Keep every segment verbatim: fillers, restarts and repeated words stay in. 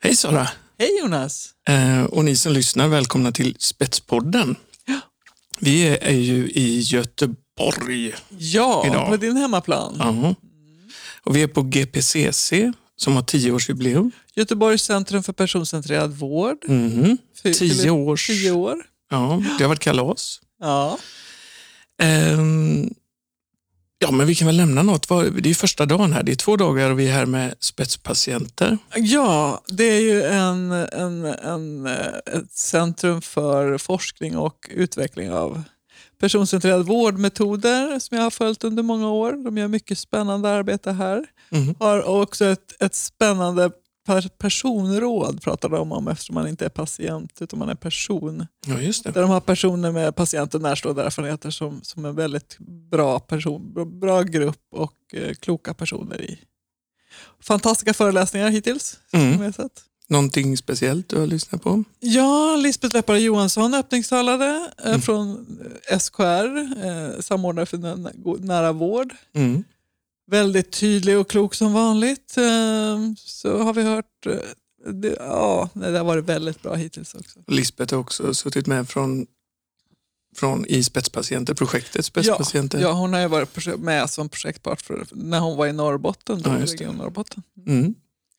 Hej Sara! Hej Jonas! Eh, och ni som lyssnar, välkomna till Spetspodden. Ja. Vi är, är ju i Göteborg Ja, idag. på din hemmaplan. Uh-huh. Och vi är på G P C C som har tioårsjubileum. Göteborgs centrum för personcentrerad vård. Mm-hmm. Fy- Tio fyller års. Tio år. Ja, det har varit kalas. Ja. Ehm, ja, men vi kan väl lämna något. Det är första dagen här. Det är två dagar och vi är här med spetspatienter. ja, det är ju en, en, en, ett centrum för forskning och utveckling av personcentrerade vårdmetoder som jag har följt under många år. De gör mycket spännande arbete här. Mm. Har också ett, ett spännande per personråd pratar de om eftersom man inte är patient utan man är person. Ja, just det. Där de har personer med patienten närstående erfarenheter som, som en väldigt bra person, bra grupp och eh, kloka personer i. Fantastiska föreläsningar hittills. Mm. Som jag sett. Någonting speciellt du har lyssnat på? Ja, Lisbeth Leppare Johansson öppningstalade eh, Mm. från S K R, eh, samordnare för nä- nära vård. Mm. Väldigt tydlig och klok som vanligt. Eh, så har vi hört, eh, det, ja, det har varit väldigt bra hittills också. Lisbeth har också suttit med från, från i Spetspatienter, projektet Spetspatienter. Ja, ja, hon har ju varit projek- med som projektpart för, när hon var i Norrbotten. Då, Ja, just det. Region Norrbotten. Mm.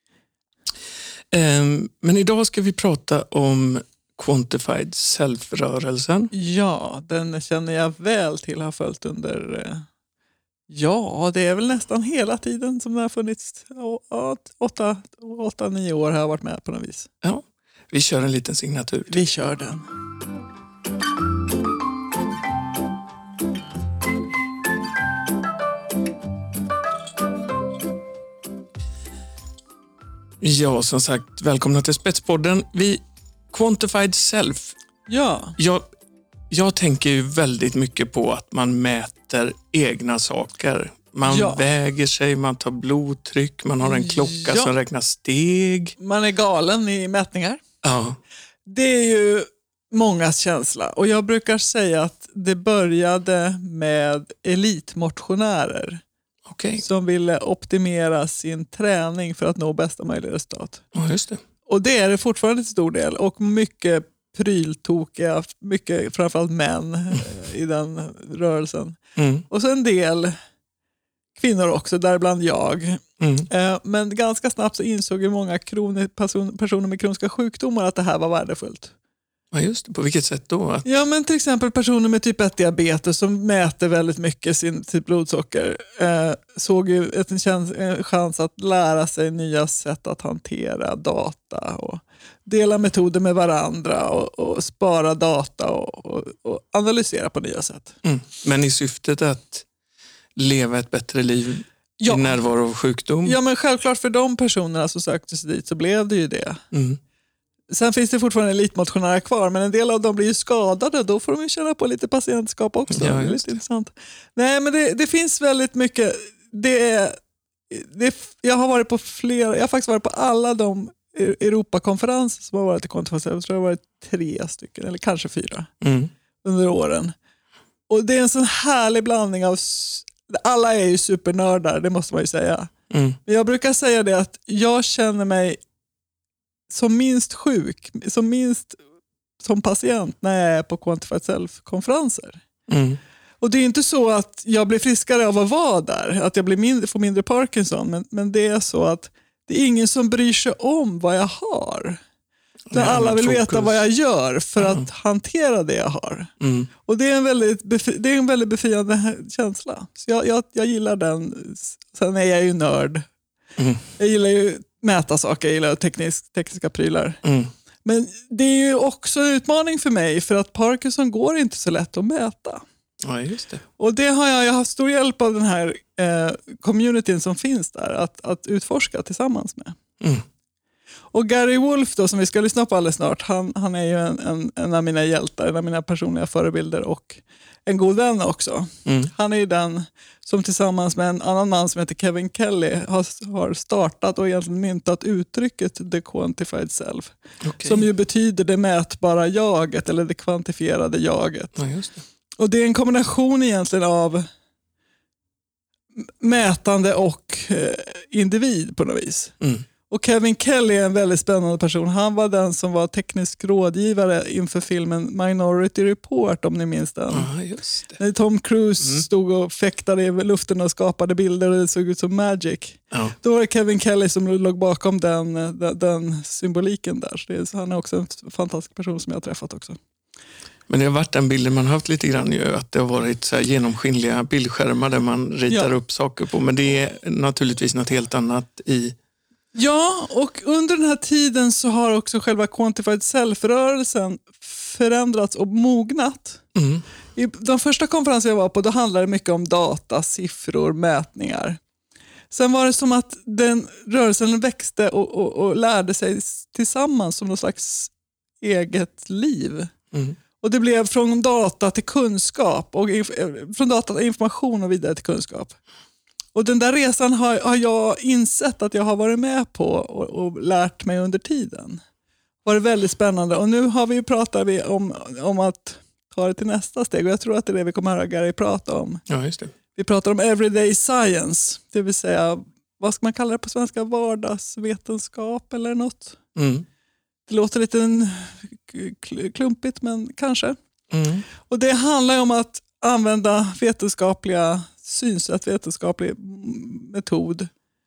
Um, men idag ska vi prata om Quantified Self-rörelsen. Ja, den känner jag väl till, har följt under... Eh, ja, det är väl nästan hela tiden som det har funnits. Ja, åtta, åtta, nio år har jag varit med på något vis. Ja, vi kör en liten signatur. Vi kör den. Ja, som sagt, välkomna till Spetspodden. Vi Quantified Self. Ja, Jag, jag tänker ju väldigt mycket på att man mäter egna saker. Man Ja. väger sig, man tar blodtryck, man har en klocka Ja. som räknar steg. man är galen i mätningar. Ja, Det är ju mångas känsla. Och jag brukar säga att det började med elitmotionärer okej. som ville optimera sin träning för att nå bästa möjliga resultat. Ja, just det. Och det är det fortfarande till stor del. Och mycket pryltokiga, mycket framförallt män eh, i den rörelsen. Mm. Och så en del kvinnor också, däribland jag. Mm. Eh, Men ganska snabbt så insåg ju många kroni- person- personer med kroniska sjukdomar att det här var värdefullt. Ja, just det. På vilket sätt då? Att, Ja, men till exempel personer med typ ett diabetes som mäter väldigt mycket sin sitt blodsocker eh, såg ju ett, en, chans, en chans att lära sig nya sätt att hantera data och dela metoder med varandra och, och spara data och, och, och analysera på nya sätt. mm. Men i syftet att leva ett bättre liv Ja. i närvaro av sjukdom? Ja, men självklart för de personerna som sökte sig dit så blev det ju det. Mm. Sen finns det fortfarande elitmotionärer kvar, men en del av dem blir ju skadade. Då får de ju känna på lite patientskap också. Ja, det är just lite det. intressant. Nej, men det, det finns väldigt mycket. Det är, det är, jag har varit på flera, jag har faktiskt varit på alla de Europakonferenser som har varit i konferenser. Jag tror det har varit tre stycken, eller kanske fyra, Mm. under åren. Och det är en sån härlig blandning av, s- alla är ju supernördar, det måste man ju säga. Mm. Men jag brukar säga det att jag känner mig som minst sjuk, som minst som patient när jag är på Quantified Self-konferenser. Mm. Och det är inte så att jag blir friskare av att vara där, att jag blir mindre, får mindre Parkinson, men, men det är så att det är ingen som bryr sig om vad jag har. Där Ja, alla men vill fokus. veta vad jag gör för Ja. att hantera det jag har. Mm. Och det är en väldigt, befri- det är en väldigt befriande känsla. Så jag, jag, jag gillar den. Sen är jag ju nörd. Mm. Jag gillar ju mäta saker, jag gillar teknisk, tekniska prylar. Mm. Men det är ju också en utmaning för mig för att Parkinson går inte så lätt att mäta. Ja, just det. Och det har jag, jag har haft stor hjälp av den här eh, communityn som finns där att, att utforska tillsammans med. Mm. Och Gary Wolf då, som vi ska lyssna på alldeles snart, han, han är ju en, en, en av mina hjältar, en av mina personliga förebilder och en god vän också. Mm. Han är ju den som tillsammans med en annan man som heter Kevin Kelly har, har startat och egentligen myntat uttrycket The Quantified Self. Okej. Som ju betyder det mätbara jaget eller det kvantifierade jaget. Ja, just det. Och det är en kombination egentligen av m- mätande och eh, individ på något vis. Mm. Och Kevin Kelly är en väldigt spännande person. Han var den som var teknisk rådgivare inför filmen Minority Report, om ni minns den. Ja, just det. När Tom Cruise Mm. stod och fäktade i luften och skapade bilder och det såg ut som magic. Ja. Då var det Kevin Kelly som låg bakom den, den, den symboliken där. Så, det är, så han är också en fantastisk person som jag har träffat också. Men det har varit den bilden man har haft lite grann ju, att det har varit så här genomskinliga bildskärmar där man ritar Ja. upp saker på. Men det är naturligtvis något helt annat i... Ja, och under den här tiden så har också själva Quantified Self-rörelsen förändrats och mognat. Mm. I de första konferenser jag var på, då handlade det mycket om data, siffror, mätningar. Sen var det som att den rörelsen växte och, och, och lärde sig tillsammans som någon slags eget liv. Mm. Och det blev från data till kunskap och inf- från data till information och vidare till kunskap. Och den där resan har, har jag insett att jag har varit med på och, och lärt mig under tiden. Det var väldigt spännande. Och nu har vi pratat vi om, om att ta det till nästa steg. Och jag tror att det är det vi kommer att höra Gary prata om. Ja, just det. Vi pratar om everyday science. Det vill säga, vad ska man kalla det på svenska? Vardagsvetenskap eller något? Mm. Det låter lite klumpigt, men kanske. Mm. Och det handlar om att använda vetenskapliga synsätt, vetenskaplig metod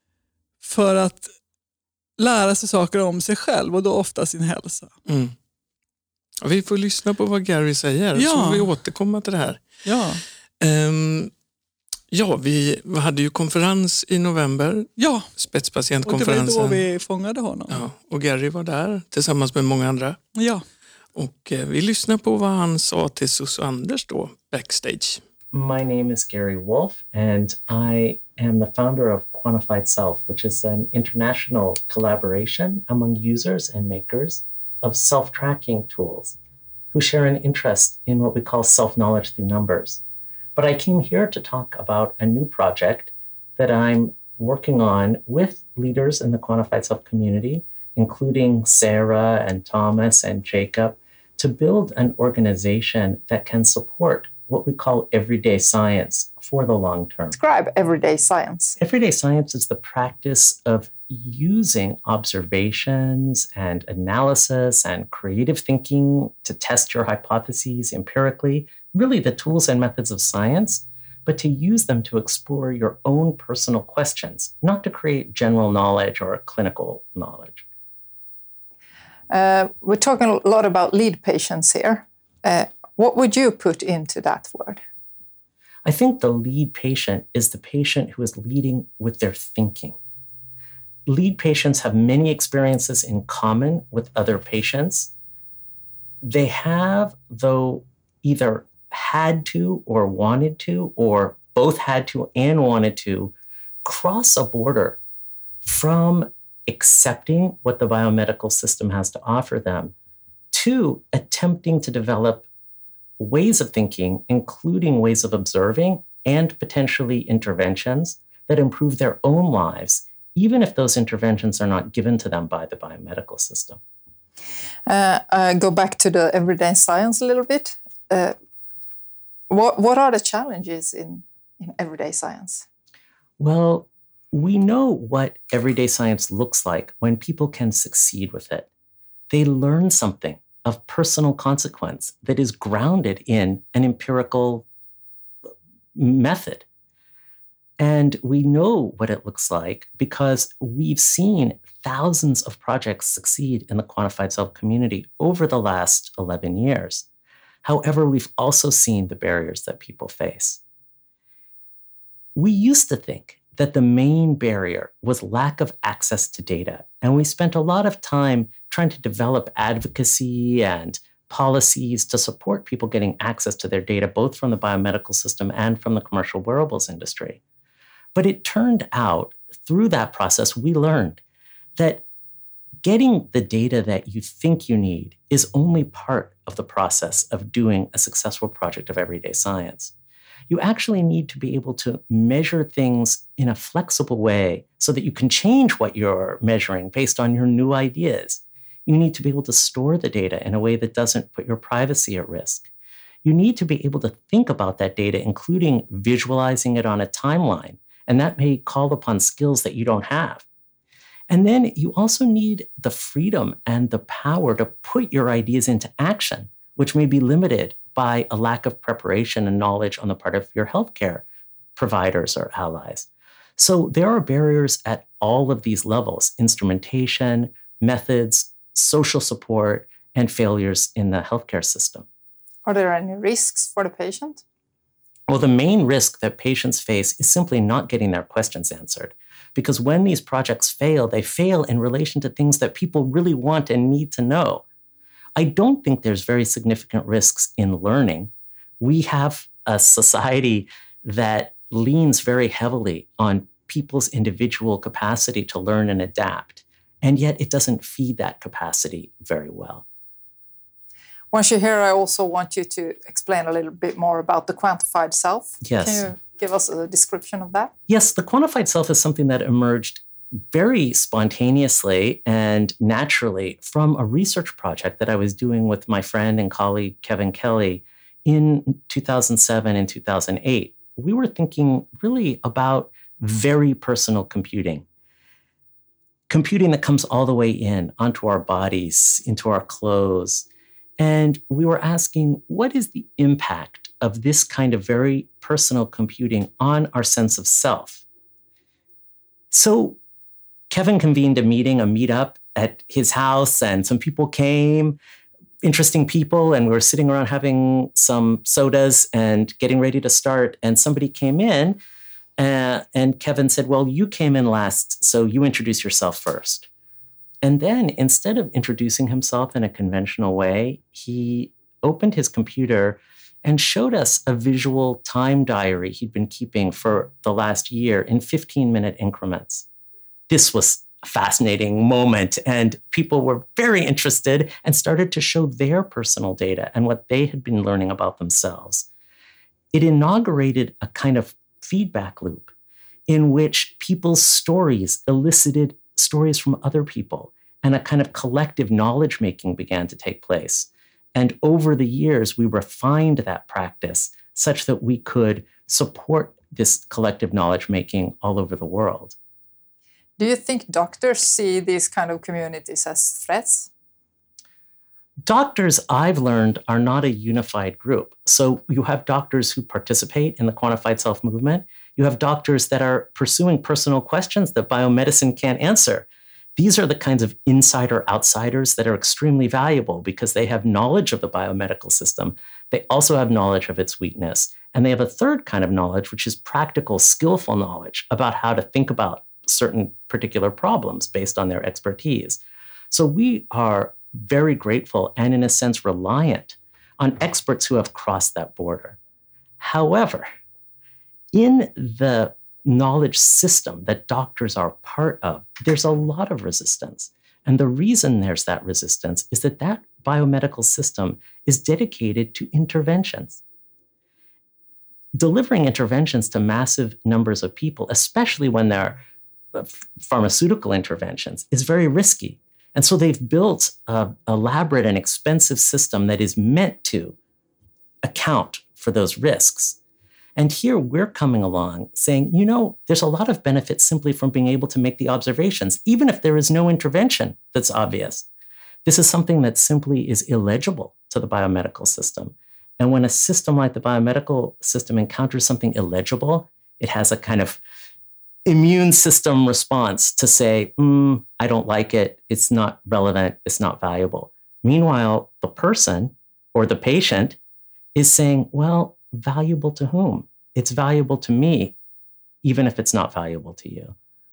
för att lära sig saker om sig själv och då ofta sin hälsa. Mm. Ja, vi får lyssna på vad Gary säger, Ja. så får vi återkomma till det här. Ja, Um, ja, vi hade ju konferens i november, ja. Och det spetspatientkonferensen. var då vi fångade honom. Ja, och Gary var där tillsammans med många andra. Ja. Och eh, vi lyssnar på vad han sa till Sus och Anders då, backstage. My name is Gary Wolf, and I am the founder of Quantified Self, which is an international collaboration among users and makers of self-tracking tools who share an interest in what we call self-knowledge through numbers. But I came here to talk about a new project that I'm working on with leaders in the Quantified Self community, including Sarah and Thomas and Jacob, to build an organization that can support what we call everyday science for the long term. Describe everyday science. Everyday science is the practice of using observations and analysis and creative thinking to test your hypotheses empirically, really the tools and methods of science, but to use them to explore your own personal questions, not to create general knowledge or clinical knowledge. Uh, we're talking a lot about lead patients here. Uh, what would you put into that word? I think the lead patient is the patient who is leading with their thinking. Lead patients have many experiences in common with other patients. They have, though, either had to or wanted to, or both had to and wanted to, cross a border from accepting what the biomedical system has to offer them to attempting to develop ways of thinking, including ways of observing and potentially interventions that improve their own lives, even if those interventions are not given to them by the biomedical system. Uh, uh, go back to the everyday science a little bit. Uh, what, what are the challenges in, in everyday science? Well, we know what everyday science looks like when people can succeed with it. They learn something of personal consequence that is grounded in an empirical method. And we know what it looks like because we've seen thousands of projects succeed in the Quantified Self community over the last eleven years. However, we've also seen the barriers that people face. We used to think that the main barrier was lack of access to data. And we spent a lot of time trying to develop advocacy and policies to support people getting access to their data, both from the biomedical system and from the commercial wearables industry. But it turned out through that process, we learned that getting the data that you think you need is only part of the process of doing a successful project of everyday science. You actually need to be able to measure things in a flexible way so that you can change what you're measuring based on your new ideas. You need to be able to store the data in a way that doesn't put your privacy at risk. You need to be able to think about that data, including visualizing it on a timeline, and that may call upon skills that you don't have. And then you also need the freedom and the power to put your ideas into action, which may be limited by a lack of preparation and knowledge on the part of your healthcare providers or allies. So there are barriers at all of these levels: instrumentation, methods, social support, and failures in the healthcare system. Are there any risks for the patient? Well, the main risk that patients face is simply not getting their questions answered. Because when these projects fail, they fail in relation to things that people really want and need to know. I don't think there's very significant risks in learning. We have a society that leans very heavily on people's individual capacity to learn and adapt, and yet it doesn't feed that capacity very well. Once you're here, I also want you to explain a little bit more about the quantified self. Yes. Can you give us a description of that? Yes, the quantified self is something that emerged very spontaneously and naturally from a research project that I was doing with my friend and colleague Kevin Kelly in two thousand seven and two thousand eight. We were thinking really about very personal computing. Computing that comes all the way in, onto our bodies, into our clothes. And we were asking, what is the impact of this kind of very personal computing on our sense of self? So Kevin convened a meeting, a meetup at his house, and some people came, interesting people, and we were sitting around having some sodas and getting ready to start. And somebody came in, uh, and Kevin said, well, you came in last, so you introduce yourself first. And then instead of introducing himself in a conventional way, he opened his computer and showed us a visual time diary he'd been keeping for the last year in fifteen-minute increments. This was a fascinating moment, and people were very interested and started to show their personal data and what they had been learning about themselves. It inaugurated a kind of feedback loop in which people's stories elicited stories from other people, and a kind of collective knowledge making began to take place. And over the years, we refined that practice such that we could support this collective knowledge making all over the world. Do you think doctors see these kind of communities as threats? Doctors, I've learned, are not a unified group. So you have doctors who participate in the quantified self movement. You have doctors that are pursuing personal questions that biomedicine can't answer. These are the kinds of insider-outsiders that are extremely valuable because they have knowledge of the biomedical system. They also have knowledge of its weakness. And they have a third kind of knowledge, which is practical, skillful knowledge about how to think about certain particular problems based on their expertise. So we are very grateful and, in a sense, reliant on experts who have crossed that border. However, in the knowledge system that doctors are part of, there's a lot of resistance. And the reason there's that resistance is that that biomedical system is dedicated to interventions. Delivering interventions to massive numbers of people, especially when they're pharmaceutical interventions, is very risky. And so they've built an elaborate and expensive system that is meant to account for those risks. And here we're coming along saying, you know, there's a lot of benefit simply from being able to make the observations, even if there is no intervention that's obvious. This is something that simply is illegible to the biomedical system. And when a system like the biomedical system encounters something illegible, it has a kind of immune system response to say, mm, I don't like it, it's not relevant, it's not valuable. Meanwhile, the person or the patient is saying, well, valuable to whom? It's valuable to me, even if it's not valuable to you.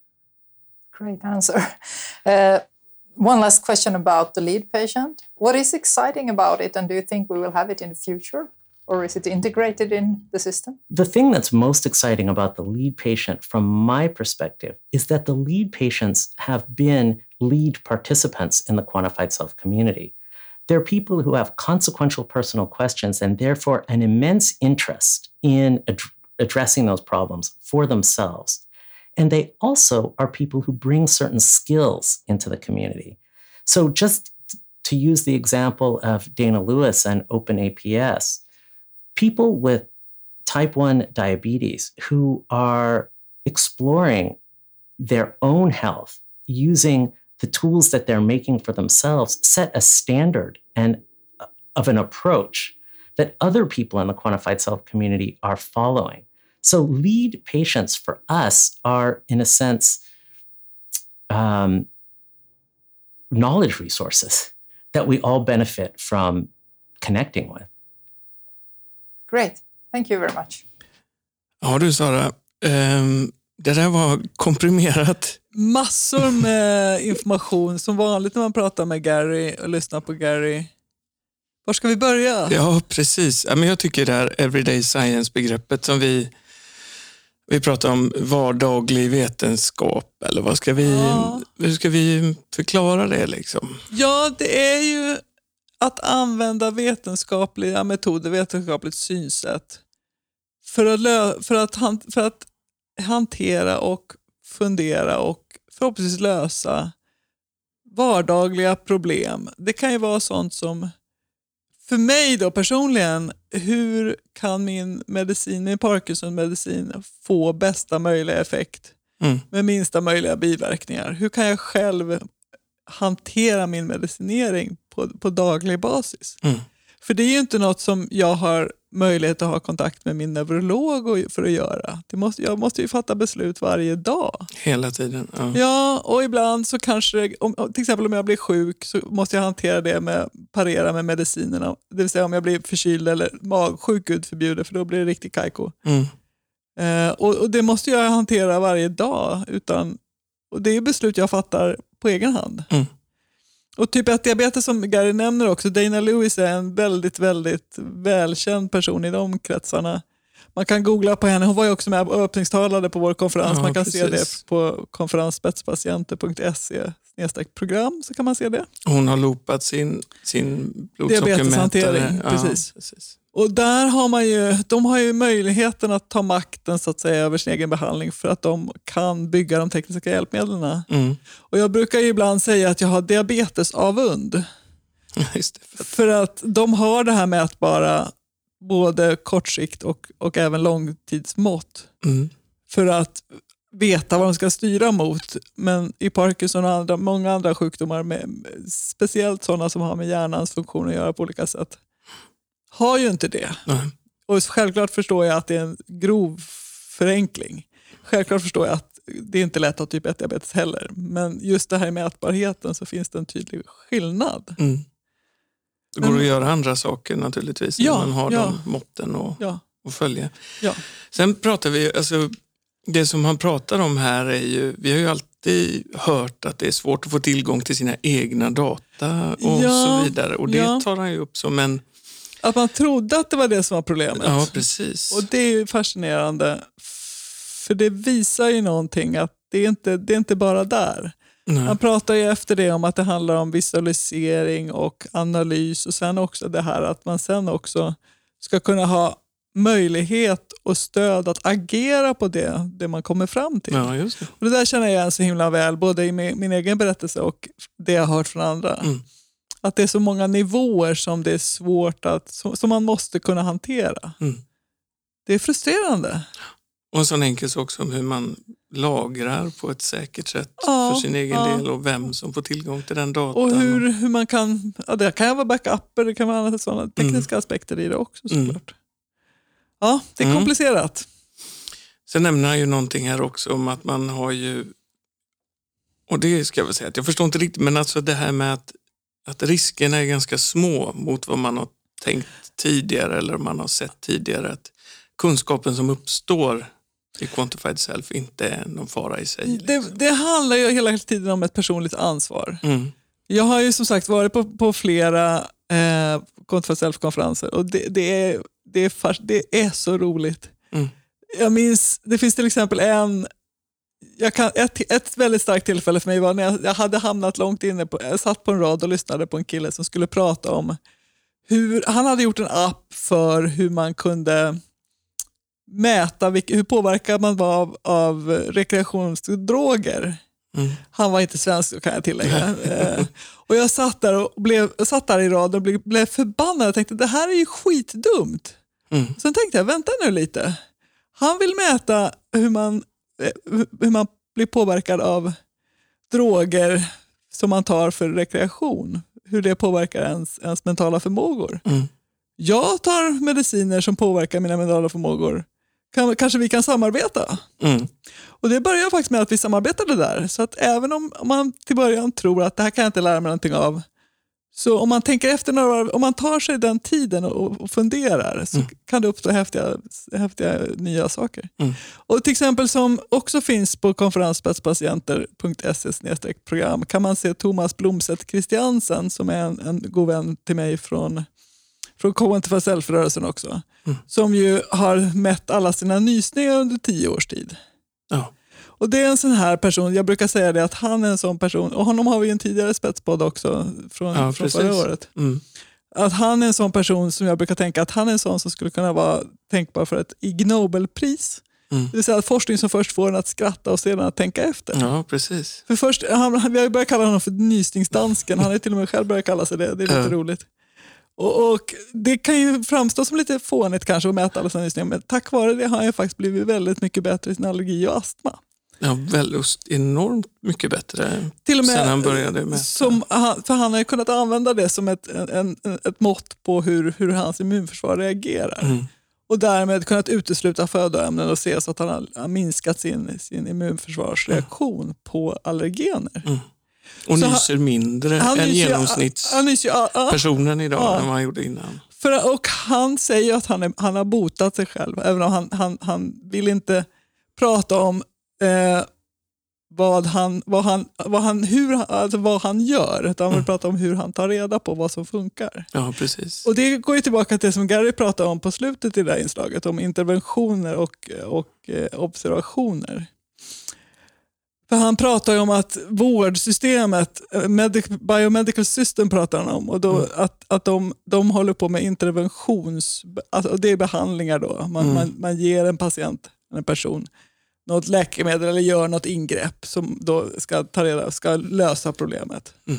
Great answer. Uh, one last question about the lead patient. What is exciting about it, and do you think we will have it in the future? Or is it integrated in the system? The thing that's most exciting about the lead patient, from my perspective, is that the lead patients have been lead participants in the quantified self community. They're people who have consequential personal questions and therefore an immense interest in ad- addressing those problems for themselves. And they also are people who bring certain skills into the community. So just to use the example of Dana Lewis and OpenAPS, people with type one diabetes who are exploring their own health using the tools that they're making for themselves set a standard and of an approach that other people in the quantified self community are following. So lead patients for us are, in a sense, um, knowledge resources that we all benefit from connecting with. Great. Thank you very much. Ja du Sara, um, det där var komprimerat. Massor med information, som vanligt när man pratar med Gary och lyssnar på Gary. Var ska vi börja? Ja, precis. Ja, men jag tycker det här everyday science-begreppet som vi, vi pratar om, vardaglig vetenskap, eller vad ska vi, Ja. hur ska vi förklara det liksom? Ja, det är ju att använda vetenskapliga metoder, vetenskapligt synsätt för att, lö- för att, han- för att hantera och fundera och förhoppningsvis lösa vardagliga problem. Det kan ju vara sånt som, för mig då personligen, hur kan min medicin, min Parkinson-medicin få bästa möjliga effekt Mm. med minsta möjliga biverkningar? Hur kan jag själv hantera min medicinering på, på daglig basis? Mm. För det är ju inte något som jag har möjlighet att ha kontakt med min neurolog och- för att göra. Det måste, jag måste ju fatta beslut varje dag. Hela tiden. Ja. Ja, och ibland så kanske, det- om, till exempel om jag blir sjuk så måste jag hantera det med, parera med medicinerna. Det vill säga om jag blir förkyld eller magsjuk, Gud förbjuder, för då blir det riktigt kajko. Mm. Eh, och, och det måste jag hantera varje dag. Utan, och det är beslut jag fattar på egen hand. Mm. Och typ ett diabetes som Gary nämner också, Dana Lewis är en väldigt, väldigt välkänd person i de kretsarna. Man kan googla på henne, hon var ju också med och öppningstalade på vår konferens. Ja, Man kan precis. se det på konferens spetspatienter punkt se snedstreck program, så kan man se det. Hon har loopat sin, sin blodsockermätare. Diabeteshantering, Ja, precis. precis. Och där har man ju, de har ju möjligheten att ta makten så att säga över sin egen behandling för att de kan bygga de tekniska hjälpmedlen. Mm. Och jag brukar ju ibland säga att jag har diabetesavund. Just det. För att de har det här mätbara både kortsikt och, och även långtidsmått Mm. för att veta vad de ska styra mot. Men i Parkinson och andra, många andra sjukdomar, med, speciellt sådana som har med hjärnans funktion att göra på olika sätt, har ju inte det. Nej. Och självklart förstår jag att det är en grov förenkling. Självklart förstår jag att det är inte lätt att ha typ ett diabetes heller. Men just det här med mätbarheten så finns det en tydlig skillnad. Mm. Det går Men- att göra andra saker naturligtvis Ja, när man har ja. de måtten och, Ja, och följa. ja. Sen pratar vi, alltså det som han pratar om här är ju, vi har ju alltid hört att det är svårt att få tillgång till sina egna data och Ja, så vidare. Och det ja. tar han ju upp som en, Att man trodde att det var det som var problemet. ja precis. Och det är ju fascinerande. För det visar ju någonting att det är inte, det är inte bara där. Nej. Han pratar ju efter det om att det handlar om visualisering och analys och sen också det här att man sen också ska kunna ha möjlighet och stöd att agera på det, det man kommer fram till. Ja, just det. Och det där känner jag igen så himla väl, både i min, min egen berättelse och det jag har hört från andra. Mm. Att det är så många nivåer som det är svårt att, som, som man måste kunna hantera. Mm. Det är frustrerande. Och en sån enkel sak som hur man lagrar på ett säkert sätt Ja, för sin egen ja. del och vem som får tillgång till den datan. Och hur, hur man kan, ja, det kan vara backuper, det kan vara andra sådana tekniska aspekter i det också såklart. Mm. Ja, det är Mm. komplicerat. Sen nämner han ju någonting här också om att man har ju, och det ska jag väl säga att jag förstår inte riktigt, men alltså det här med att, att riskerna är ganska små mot vad man har tänkt tidigare eller man har sett tidigare, att kunskapen som uppstår i Quantified Self inte är någon fara i sig. Det, Liksom. det handlar ju hela tiden om ett personligt ansvar. Mm. Jag har ju som sagt varit på, på flera eh, Quantified Self-konferenser och det, det, är, det, är fast, det är så roligt. Mm. Jag minns, det finns till exempel en, jag kan, ett, ett väldigt starkt tillfälle för mig var när jag, jag hade hamnat långt inne, på, jag satt på en rad och lyssnade på en kille som skulle prata om hur, han hade gjort en app för hur man kunde mäta vilk, hur påverkad man var av, av rekreationsdroger. Mm. Han var inte svensk, kan jag tillägga. eh, och jag satt där, och blev, jag satt där i rad och blev, blev förbannad. Jag tänkte, det här är ju skitdumt. Mm. Sen tänkte jag, vänta nu lite. Han vill mäta hur man, eh, hur man blir påverkad av droger som man tar för rekreation, hur det påverkar ens, ens mentala förmågor. Mm. Jag tar mediciner som påverkar mina mentala förmågor. Kan, kanske vi kan samarbeta? Mm. Och det börjar faktiskt med att vi samarbetade där. Så att även om man till början tror att det här kan jag inte lära mig någonting av, så om man tänker efter några, om man tar sig den tiden och, och funderar, så mm. kan det uppstå häftiga, häftiga nya saker. Mm. Och till exempel som också finns på konferensspetspatienter punkt se slash program kan man se Thomas Blomstedt Christiansen, som är en, en god vän till mig från från Cognitive Self-rörelsen också, mm. som ju har mätt alla sina nysningar under tio års tid. Ja. Och det är en sån här person, jag brukar säga det, att han är en sån person, och honom har vi en tidigare spetspodd också från, ja, från förra året. Mm. Att han är en sån person som jag brukar tänka att han är en sån som skulle kunna vara tänkbar för ett Ig Nobelpris. Mm. Det vill säga att forskning som först får en att skratta och sedan att tänka efter. Ja, precis. För först, han, vi har ju börjat kalla honom för nysningsdansken, han är till och med själv börjat kalla sig det, det är lite ja. roligt. Och, och det kan ju framstå som lite fånigt kanske att mäta alla sina nysningar, men tack vare det har jag faktiskt blivit väldigt mycket bättre i sin allergi och astma. Ja, väldigt enormt mycket bättre till och med, sen han började mäta. Som, för han har ju kunnat använda det som ett, en, ett mått på hur, hur hans immunförsvar reagerar. Mm. Och därmed kunnat utesluta födoämnen och se så att han har, har minskat sin, sin immunförsvarsreaktion mm. på allergener. Mm. Och så nyser han, mindre han än genomsnittspersonen idag ja, än vad han gjorde innan. För, och han säger att han, är, han har botat sig själv, även om han, han, han vill inte prata om eh, vad han, vad han, vad han, hur, alltså vad han gör, utan han vill mm. prata om hur han tar reda på vad som funkar. Ja, precis. Och det går ju tillbaka till det som Gary pratade om på slutet i det här inslaget, om interventioner och, och eh, observationer. För han pratar ju om att vårdsystemet, medic, biomedical system pratar han om, och då mm. att, att de, de håller på med interventions, alltså det är behandlingar då. Man, mm. man, man ger en patient, en person, något läkemedel eller gör något ingrepp som då ska ta reda, ska lösa problemet. Mm.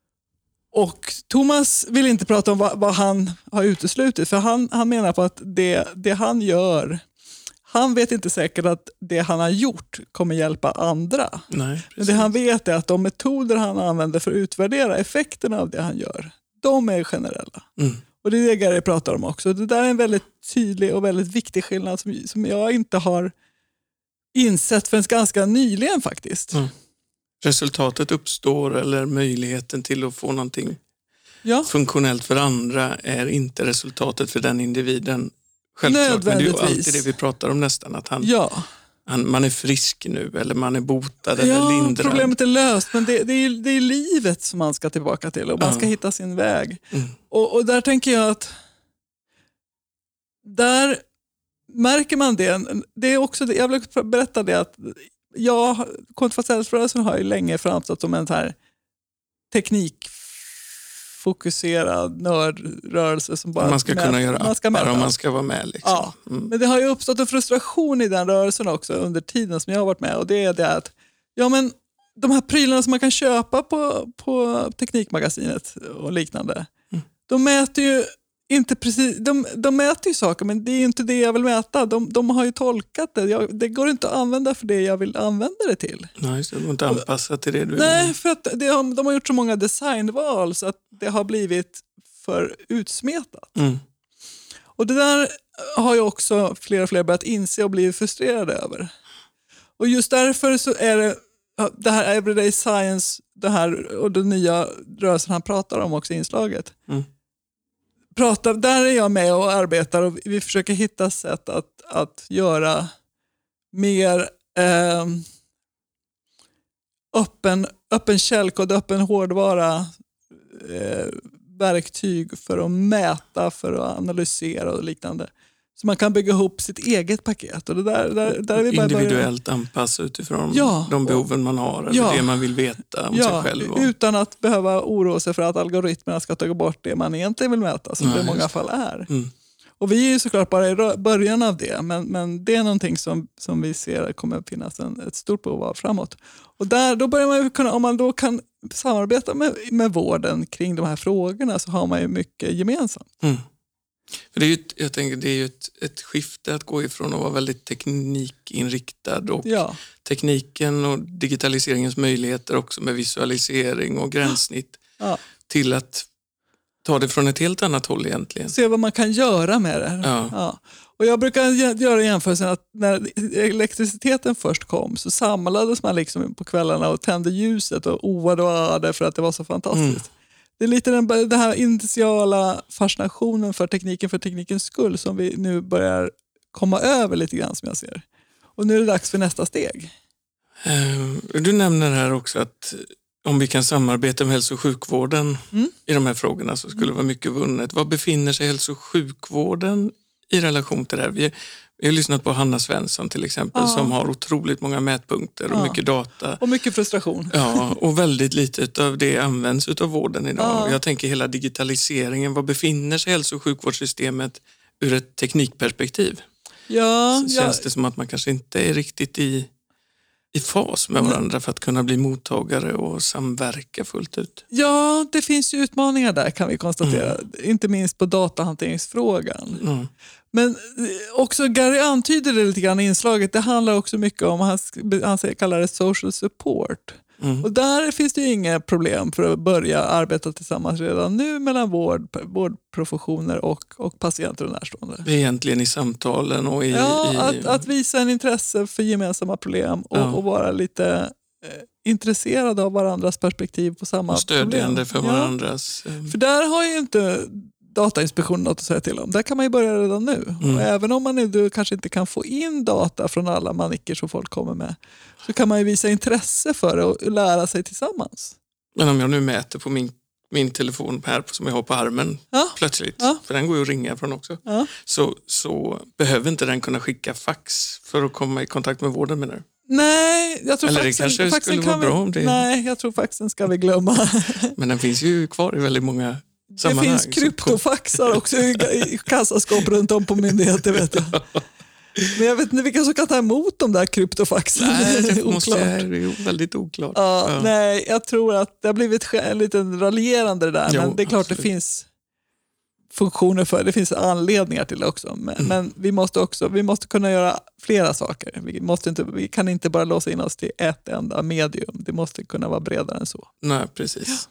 Och Thomas vill inte prata om vad, vad han har uteslutit, för han, han menar på att det, det han gör, han vet inte säkert att det han har gjort kommer hjälpa andra. Nej, men det han vet är att de metoder han använder för att utvärdera effekterna av det han gör, de är generella. Mm. Och det är det Gary pratar om också. Det där är en väldigt tydlig och väldigt viktig skillnad som, som jag inte har insett förrän ganska nyligen faktiskt. Mm. Resultatet uppstår, eller möjligheten till att få någonting ja. funktionellt för andra är inte resultatet för den individen. Självklart, men det är ju alltid det vi pratar om nästan, att han, ja. han, man är frisk nu eller man är botad ja, eller lindrad. Problemet är löst, men det, det, är, det är livet som man ska tillbaka till och man ja. ska hitta sin väg. Mm. Och, och där tänker jag att där märker man det. Det är också det, jag vill berätta det att jag, kontraceptionsrörelsen har ju länge framstått som en så här teknikfokuserad nördrörelse som bara man ska med, kunna göra man ska appar om man ska vara med. Liksom. Ja, mm. Men det har ju uppstått en frustration i den rörelsen också under tiden som jag har varit med, och det är det att ja, men de här prylarna som man kan köpa på, på Teknikmagasinet och liknande, mm. de mäter ju inte precis, de, de mäter ju saker, men det är inte det jag vill mäta. De, de har ju tolkat det. Jag, det går inte att använda för det jag vill använda det till. Nej, så det går inte anpassa till det du Nej, vill. för att det har, de har gjort så många designval så att det har blivit för utsmetat. Mm. Och det där har ju också fler och fler börjat inse och blivit frustrerade över. Och just därför så är det det här Everyday Science, det här och den nya rörelsen han pratar om också i inslaget. Mm. Prata, där är jag med och arbetar och vi försöker hitta sätt att, att göra mer eh, öppen, öppen källkod, öppen hårdvara eh, verktyg för att mäta, för att analysera och liknande. Så man kan bygga ihop sitt eget paket. Och det där, där, där är vi bara individuellt börjar... anpassa utifrån ja, de behoven man har eller ja, det man vill veta om ja, sig själv. Och... utan att behöva oroa sig för att algoritmerna ska ta bort det man egentligen vill mäta, som Nej, det i många fall är. Mm. Och vi är ju såklart bara i början av det, men, men det är någonting som, som vi ser kommer att finnas en, ett stort behov av framåt. Och där, då börjar man ju kunna, om man då kan samarbeta med, med vården kring de här frågorna, så har man ju mycket gemensamt. Mm. För det är ju, ett- jag tänker, det är ju ett, ett skifte att gå ifrån att vara väldigt teknikinriktad och Ja, tekniken och digitaliseringens möjligheter också med visualisering och gränssnitt ja. till att ta det från ett helt annat håll egentligen. Se vad man kan göra med det. Ja. Ja. Och jag brukar gö- göra jämförelsen att när elektriciteten först kom så samlades man liksom på kvällarna och tände ljuset och oade och öade för att det var så fantastiskt. Mm. Det är lite den, den här initiala fascinationen för tekniken för teknikens skull som vi nu börjar komma över lite grann, som jag ser. Och nu är det dags för nästa steg. Eh, Du nämner här också att om vi kan samarbeta med hälso- och sjukvården Mm. i de här frågorna så skulle det vara mycket vunnet. Var befinner sig hälso- och sjukvården i relation till det här? Vi, vi har lyssnat på Hanna Svensson till exempel Ja. som har otroligt många mätpunkter och Ja. mycket data. Och mycket frustration. Ja, och väldigt lite av det används av vården idag. Ja. Jag tänker hela digitaliseringen. Var befinner sig hälso- och sjukvårdssystemet ur ett teknikperspektiv? Ja, Så ja, känns det som att man kanske inte är riktigt i, i fas med varandra för att kunna bli mottagare och samverka fullt ut. ja, det finns ju utmaningar där kan vi konstatera. Inte minst på datahanteringsfrågan. Mm. Men eh, också Gary antyder det lite grann i inslaget. Det handlar också mycket om, han, sk- han säger, kallar det social support. Mm. Och där finns det ju inga problem för att börja arbeta tillsammans redan nu mellan vård, vårdprofessioner och, och patienter och närstående. Egentligen i samtalen och i... Ja, i att, att visa en intresse för gemensamma problem och, Ja. och vara lite eh, intresserade av varandras perspektiv på samma och stödjande problem. för Ja. varandras... eh, För där har ju inte Datainspektionen något att säga till om. Där kan man ju börja redan nu. Mm. Och även om man nu kanske inte kan få in data från alla manicker som folk kommer med, så kan man ju visa intresse för det och lära sig tillsammans. Men om jag nu mäter på min, min telefon här som jag har på armen Ja. plötsligt, Ja. för den går ju att ringa från också, Ja. så, så behöver inte den kunna skicka fax för att komma i kontakt med vården, menar du? Nej, jag tror Eller det faxen, kanske faxen skulle kan vara bra vi, om det- Nej, jag tror faxen ska vi glömma. Men den finns ju kvar i väldigt många Det sammanhang. finns Så kryptofaxar också i, i kassaskåp runt om på myndigheter, vet jag. Men jag vet inte vilka som kan ta emot de där kryptofaxen. Nej, det måste Oklart. jag, det är väldigt oklart. Ja, Ja. Nej, jag tror att det har blivit sk- en liten raljerande det där. Jo, men det är klart absolut. det finns funktioner för det. finns anledningar till det också. Men, Mm. men vi måste också vi måste kunna göra flera saker. Vi, måste inte, vi kan inte bara låsa in oss till ett enda medium. Det måste kunna vara bredare än så. Nej, precis.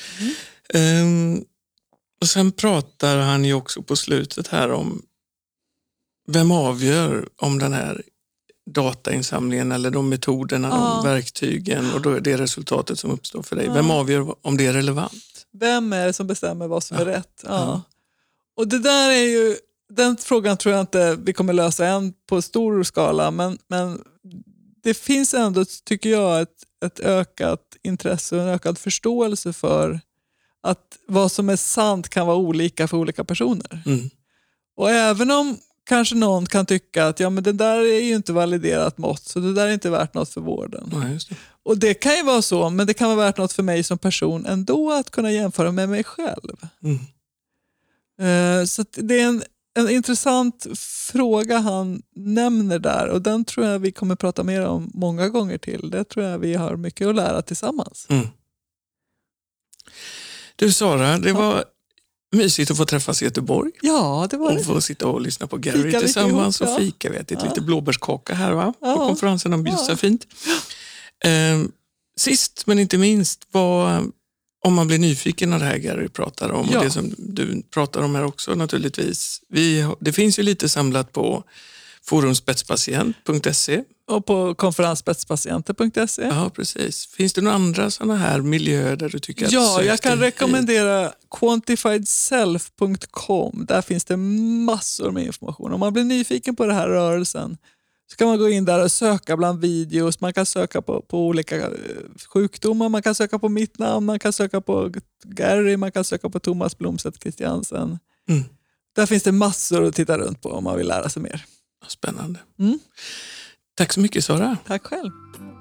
Ehm, och sen pratar han ju också på slutet här om vem avgör om den här datainsamlingen eller de metoderna, Ja. de verktygen och då är det resultatet som uppstår för dig. Ja. Vem avgör om det är relevant? Vem är det som bestämmer vad som är rätt? Ja. Ja. Och det där är ju, den frågan tror jag inte vi kommer lösa än på stor skala, men, men det finns ändå, tycker jag, ett, ett ökat intresse och en ökad förståelse för att vad som är sant kan vara olika för olika personer. Mm. Och även om kanske någon kan tycka att ja, men det där är ju inte validerat mått, så det där är inte värt något för vården. Ja, just det. Och det kan ju vara så, men det kan vara värt något för mig som person ändå att kunna jämföra med mig själv. Mm. Eh, Så att det är en, en intressant fråga han nämner där och den tror jag vi kommer prata mer om många gånger till. Det tror jag vi har mycket att lära tillsammans. Mm. Du Sara, det var mysigt att få träffas i Göteborg Ja, det var och det. få sitta och lyssna på Gary Fika lite tillsammans ihop, ja. och fika. Vi har ätit Ja. lite blåbärskaka här, va? På Ja. konferensen om Ja. bjussa fint. Ehm, sist men inte minst, vad, om man blir nyfiken av det här Gary pratar om Ja. och det som du pratar om här också naturligtvis. Vi, har- det finns ju lite samlat på forum spetspatient punkt se. Och på konferensspetspatienter punkt se. Ja, precis. Finns det några andra sådana här miljöer där du tycker att Ja, sök jag kan dig rekommendera quantified self punkt com. Där finns det massor med information. Om man blir nyfiken på den här rörelsen så kan man gå in där och söka bland videos. Man kan söka på, på olika eh, sjukdomar. Man kan söka på mitt namn. Man kan söka på Gary. Man kan söka på Thomas Blomstedt Christiansen. Mm. Där finns det massor att titta runt på om man vill lära sig mer. Spännande. Mm. Tack så mycket Sara. Tack själv.